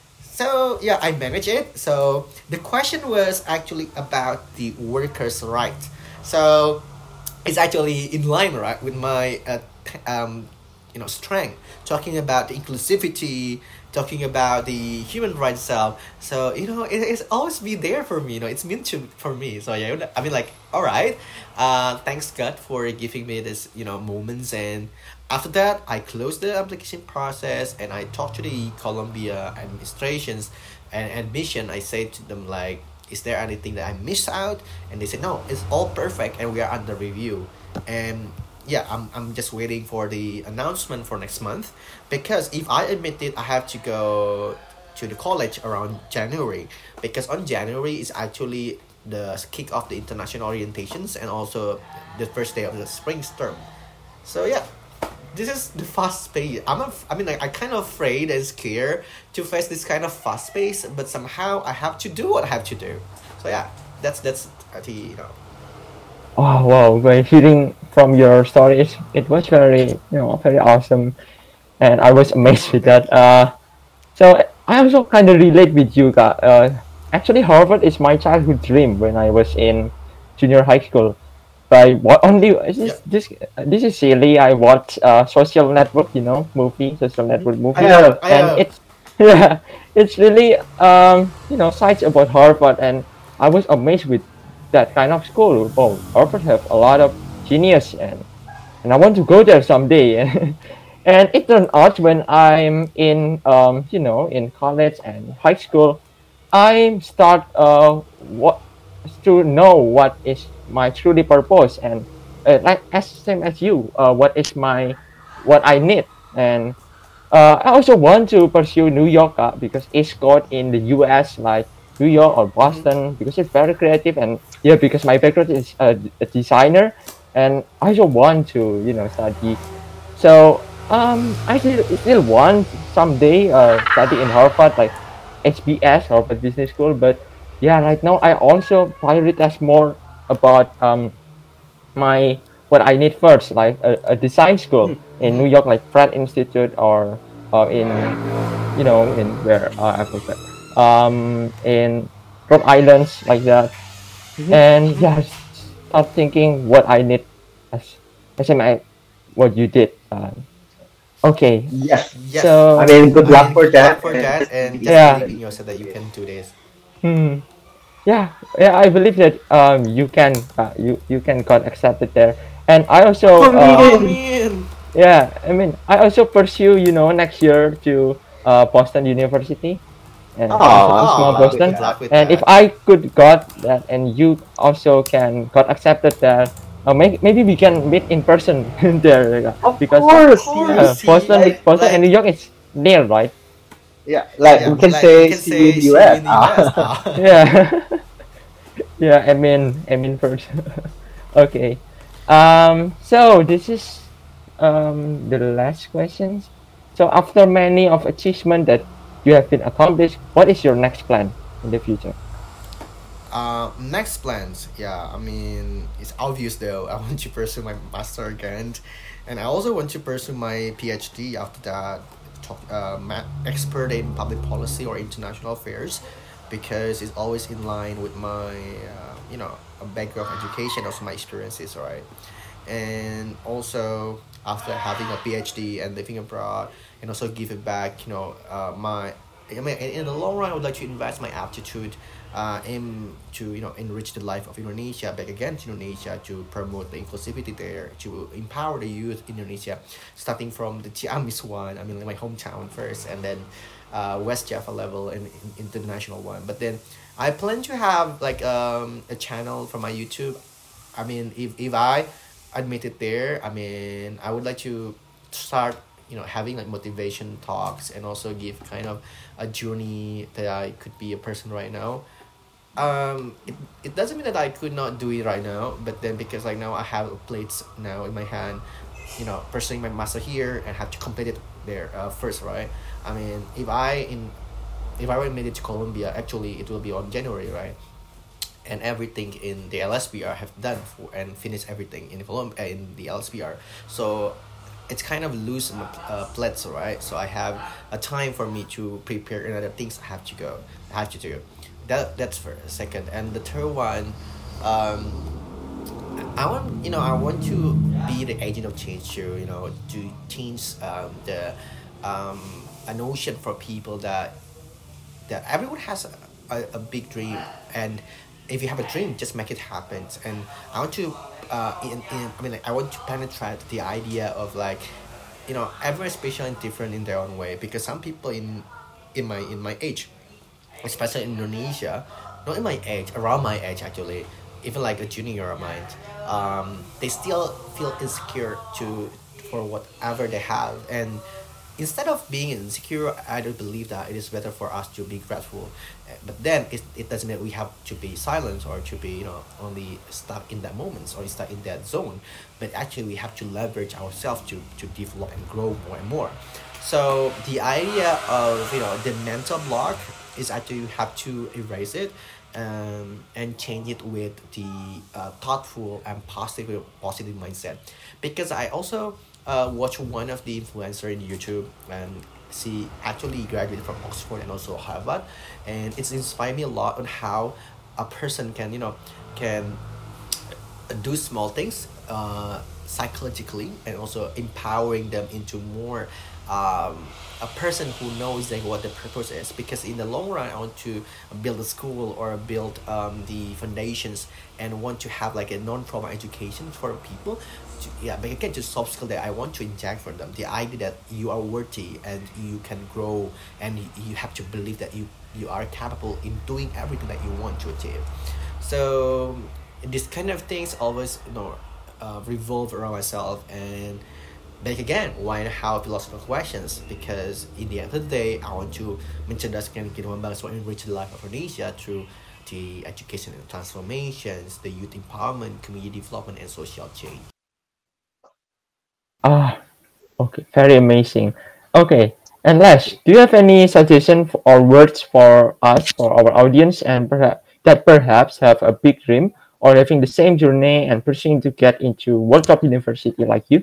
So yeah, I manage it. So the question was actually about the workers' right. So it's actually in line, right, with my uh, t- um, you know strength, talking about the inclusivity, talking about the human rights itself. So you know, it, it's always be there for me. You know, it's meant to for me. So yeah, I mean, like, all right. Uh, thanks God for giving me this, you know, moments. And after that, I closed the application process and I talked to the Columbia administrations and admission. I said to them like, is there anything that I missed out? And they said no, it's all perfect and we are under review. And yeah, I'm, I'm just waiting for the announcement for next month, because if I admit it, I have to go to the college around January, because on January is actually the kick off the international orientations and also the first day of the spring term. So yeah, this is the fast pace. I'm a, I mean, like, I kind of afraid and scared to face this kind of fast pace, but somehow I have to do what I have to do. So yeah, that's that's the, you know. Oh wow! By hearing from your stories, it was very, you know, very awesome, and I was amazed with that. Uh, so I also kind of relate with you, guys. Uh, actually, Harvard is my childhood dream when I was in junior high school. By what only Yeah. this this this is silly. I watched uh social network, you know, movie, social network I movie, have. I and have. it's yeah, it's really um you know sites about Harvard, and I was amazed with that kind of school. Oh, Harvard have a lot of genius, and and I want to go there someday. And it turned out when I'm in um you know in college and high school, I start uh what to know what is my truly purpose, and uh, like as same as you, uh, what is my what I need. And uh, I also want to pursue New York, uh, because East Coast in the U S, like New York or Mm-hmm. Boston, because it's very creative. And yeah, because my background is a, a designer, and I also want to you know study. So um, I still, still want someday uh, study in Harvard, like H B S, Harvard Business School. But yeah, right now I also prioritize more about um my what I need first, like a, a design school in New Mm-hmm. York, like Pratt Institute, or or in you know in where uh, I forgot um in Rhode Islands, like that. Mhm. And Mm-hmm. yeah, start thinking what I need as as in I what you did. Uh, okay, Yes. Yes. I so mean, good I luck mean, for good luck that, for and that, and just yeah, believe in yourself that you can do this. hmm, yeah, yeah, I believe that um you can uh, you you can got accepted there. And I also uh Oh Amin. man. yeah, I mean, I also pursue, you know, next year to uh, Boston University, and also to Oh, good small Oh, luck with Boston. good that. luck with And if that. I could got that, and you also can got accepted there, uh, may- maybe we can meet in person there, yeah, Of because Of course, uh, yes. course, see, Boston, Like, Boston and like, New York is near, right? yeah, like yeah, we Mm. can like we say, can see you in say the see you U S. in the U S. Ah. Ah. Yeah, yeah. I mean, I mean first. Okay. Um. So this is um the last questions. So after many of achievement that you have been accomplished, what is your next plan in the future? Uh, next plans, yeah. I mean, it's obvious though. I want to pursue my master again, and I also want to pursue my PhD after that. Talk, uh, ma- expert in public policy or international affairs, because it's always in line with my, uh, you know, background of education, also my experiences, right? And also after having a PhD and living abroad, and also give it back, you know, uh, my I mean, in, in the long run, I would like to invest my aptitude, uh, aim to you know enrich the life of Indonesia, back again to Indonesia, to promote the inclusivity there, to empower the youth in Indonesia, starting from the Ciamis one, I mean, like my hometown first, and then uh, West Java level and in, international one. But then I plan to have like um, a channel for my YouTube. I mean, if, if I admit it there, I mean, I would like to start, you know, having like motivation talks and also give kind of a journey that I could be a person right now. Um, it, it doesn't mean that I could not do it right now, but then because like now I have plates now in my hand, you know, pursuing my master here and have to complete it there uh, first, right? I mean, if I in if I were made it to Colombia, actually it will be on January, right? And everything in the L S P R have done for and finished everything in Colom- uh, in the L S P R. So it's kind of loose in my uh, plates, right? So I have a time for me to prepare and other things I have to go, I have to do. That that's for a second, and the third one, um, I want you know I want to be the agent of change too. You know, to change um, the um, a notion for people that that everyone has a, a, a big dream, and if you have a dream, just make it happen. And I want to uh in, in I mean like I want to penetrate the idea of like, you know, everyone is special and different in their own way, because some people in in my in my age, especially in Indonesia, not in my age, around my age actually, even like a junior of mine, um, they still feel insecure to for whatever they have. And instead of being insecure, I don't believe that it is better for us to be grateful. Uh, But then it, it doesn't mean we have to be silent or to be, you know, only stuck in that moment or stuck in that zone. But actually, we have to leverage ourselves to, to develop and grow more and more. So the idea of, you know, the mental block is actually you have to erase it, um, and change it with the uh, thoughtful and positive positive mindset. Because I also uh, watch one of the influencer in YouTube, and she actually graduated from Oxford and also Harvard, and it's inspired me a lot on how a person can, you know, can do small things uh, psychologically, and also empowering them into more um, a person who knows like what the purpose is. Because in the long run, I want to build a school or build um, the foundations, and want to have like a non-trauma education for people to, yeah, but again, just soft skill that I want to inject for them, the idea that you are worthy and you can grow, and you, you have to believe that you you are capable in doing everything that you want to achieve. So these kind of things always, you know, uh, revolve around myself. And back again, why and how philosophical questions, because in the end of the day, I want to mencerdaskan kehidupan bangsa and enrich the life of Indonesia through the education and transformations, the youth empowerment, community development, and social change. Ah, okay, very amazing. Okay, and Les, do you have any suggestion f- or words for us, for our audience, and perhaps that perhaps have a big dream or having the same journey and pursuing to get into World Cup University like you?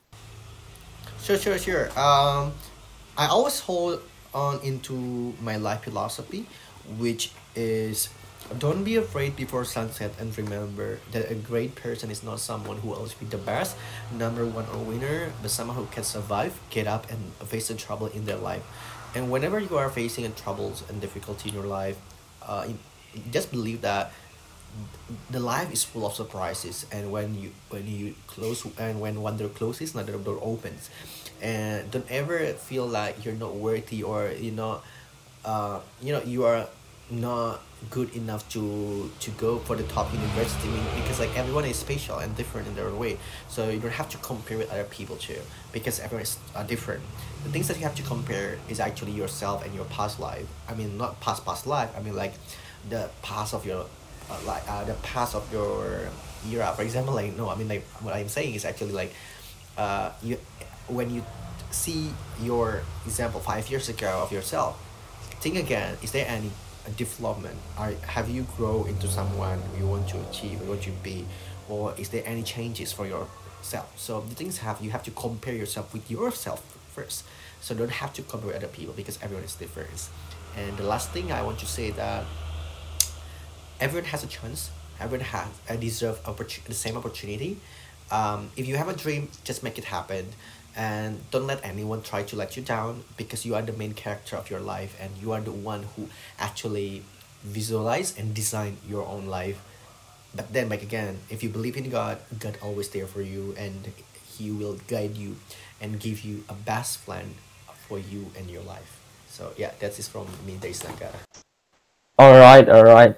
Sure, sure, sure. Um, I always hold on into my life philosophy, which is don't be afraid before sunset, and remember that a great person is not someone who always be the best, number one or winner, but someone who can survive, get up, and face the trouble in their life. And whenever you are facing a troubles and difficulty in your life, uh, just believe that the life is full of surprises, and when you when you close and when one door closes, another door opens. And don't ever feel like you're not worthy, or you know uh you know you are not good enough to to go for the top university. I mean, because like everyone is special and different in their own way, so you don't have to compare with other people too, because everyone is uh, different. The things that you have to compare is actually yourself and your past life. I mean, not past past life, I mean like the past of your uh, like uh, the past of your era. For example, like, no, I mean like what I'm saying is actually like uh you when you see your example five years ago of yourself, think again, is there any uh, development? Are have you grow into someone you want to achieve, you want to be, or is there any changes for yourself? So the things have you have to compare yourself with yourself first. So don't have to compare with other people, because everyone is different. And the last thing I want to say that everyone has a chance. Everyone has a deserve opportu- the same opportunity. Um, if you have a dream, just make it happen, and don't let anyone try to let you down, because you are the main character of your life, and you are the one who actually visualize and design your own life. But then, back again, if you believe in God, God always there for you, and He will guide you and give you a best plan for you and your life. So yeah, that's it from me, Dais Nagara. All right, all right.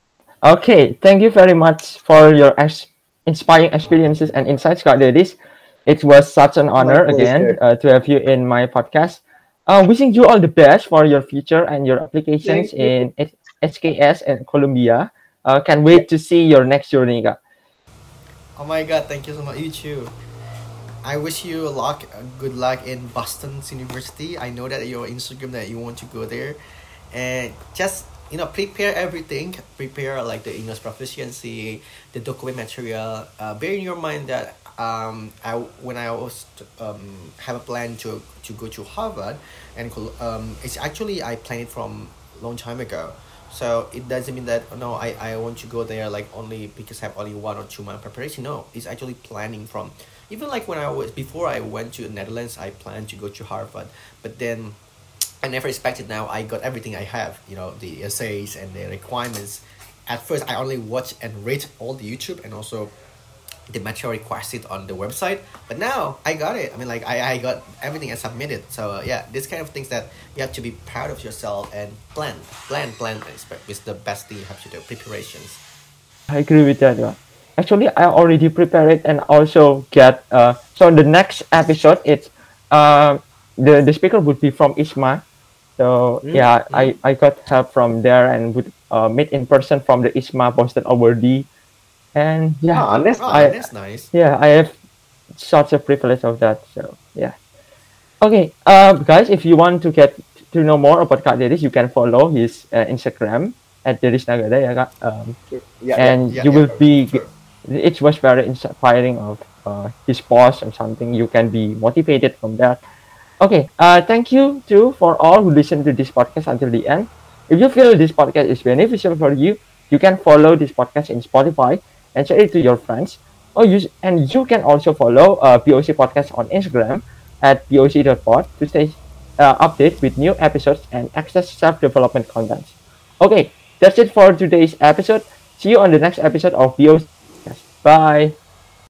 Okay, thank you very much for your ex- inspiring experiences and insights, Kak Dedis. It was such an My honor again pleasure. uh, to have you in my podcast. Uh, wishing you all the best for your future and your applications Thank you. in H- HKS and Columbia. Uh, can't Yeah. wait to see your next journey, Kak. Oh my God, thank you so much. You too. I wish you luck, uh, good luck in Boston University. I know that your Instagram that you want to go there, and just, you know, prepare everything. Prepare like the English proficiency, the document material. Uh, bear in your mind that um I when I was um have a plan to to go to Harvard, and col- um it's actually I planned it from long time ago. So it doesn't mean that, oh, no, I, I want to go there like only because I have only one or two month preparation. No, it's actually planning from, even like when I was before I went to the Netherlands, I planned to go to Harvard, but then I never expected now I got everything I have, you know, the essays and the requirements. At first, I only watch and read all the YouTube and also the material requested on the website. But now I got it. I mean, like, I, I got everything I submitted. So, uh, yeah, this kind of things that you have to be proud of yourself and plan, plan, plan, and expect is the best thing you have to do, preparations. I agree with that. Yeah. Actually, I already prepared it and also get. Uh, so the next episode, it's uh, the the speaker would be from ISMA. So Mm, yeah, mm. I, I got help from there and would uh, meet in person from the ISMA Boston awardee. And yeah, Ah, that's Oh, I nice. that's nice. yeah I have such a privilege of that. So yeah. Okay, uh, guys, if you want to get to know more about Kak Dedis, you can follow his uh, Instagram at Dedis Nagada, ya, Kak. Um, Yeah, yeah. and Yeah, you yeah, will be. sure. It was very inspiring of uh, his post or something. You can be motivated from that. Okay, uh, thank you too for all who listen to this podcast until the end. If you feel this podcast is beneficial for you, you can follow this podcast in Spotify and share it to your friends. Oh, you and you can also follow uh, P O C Podcast on Instagram at P O C dot pod to stay uh, updated with new episodes and access self-development content. Okay, that's it for today's episode. See you on the next episode of P O C Podcast. Bye.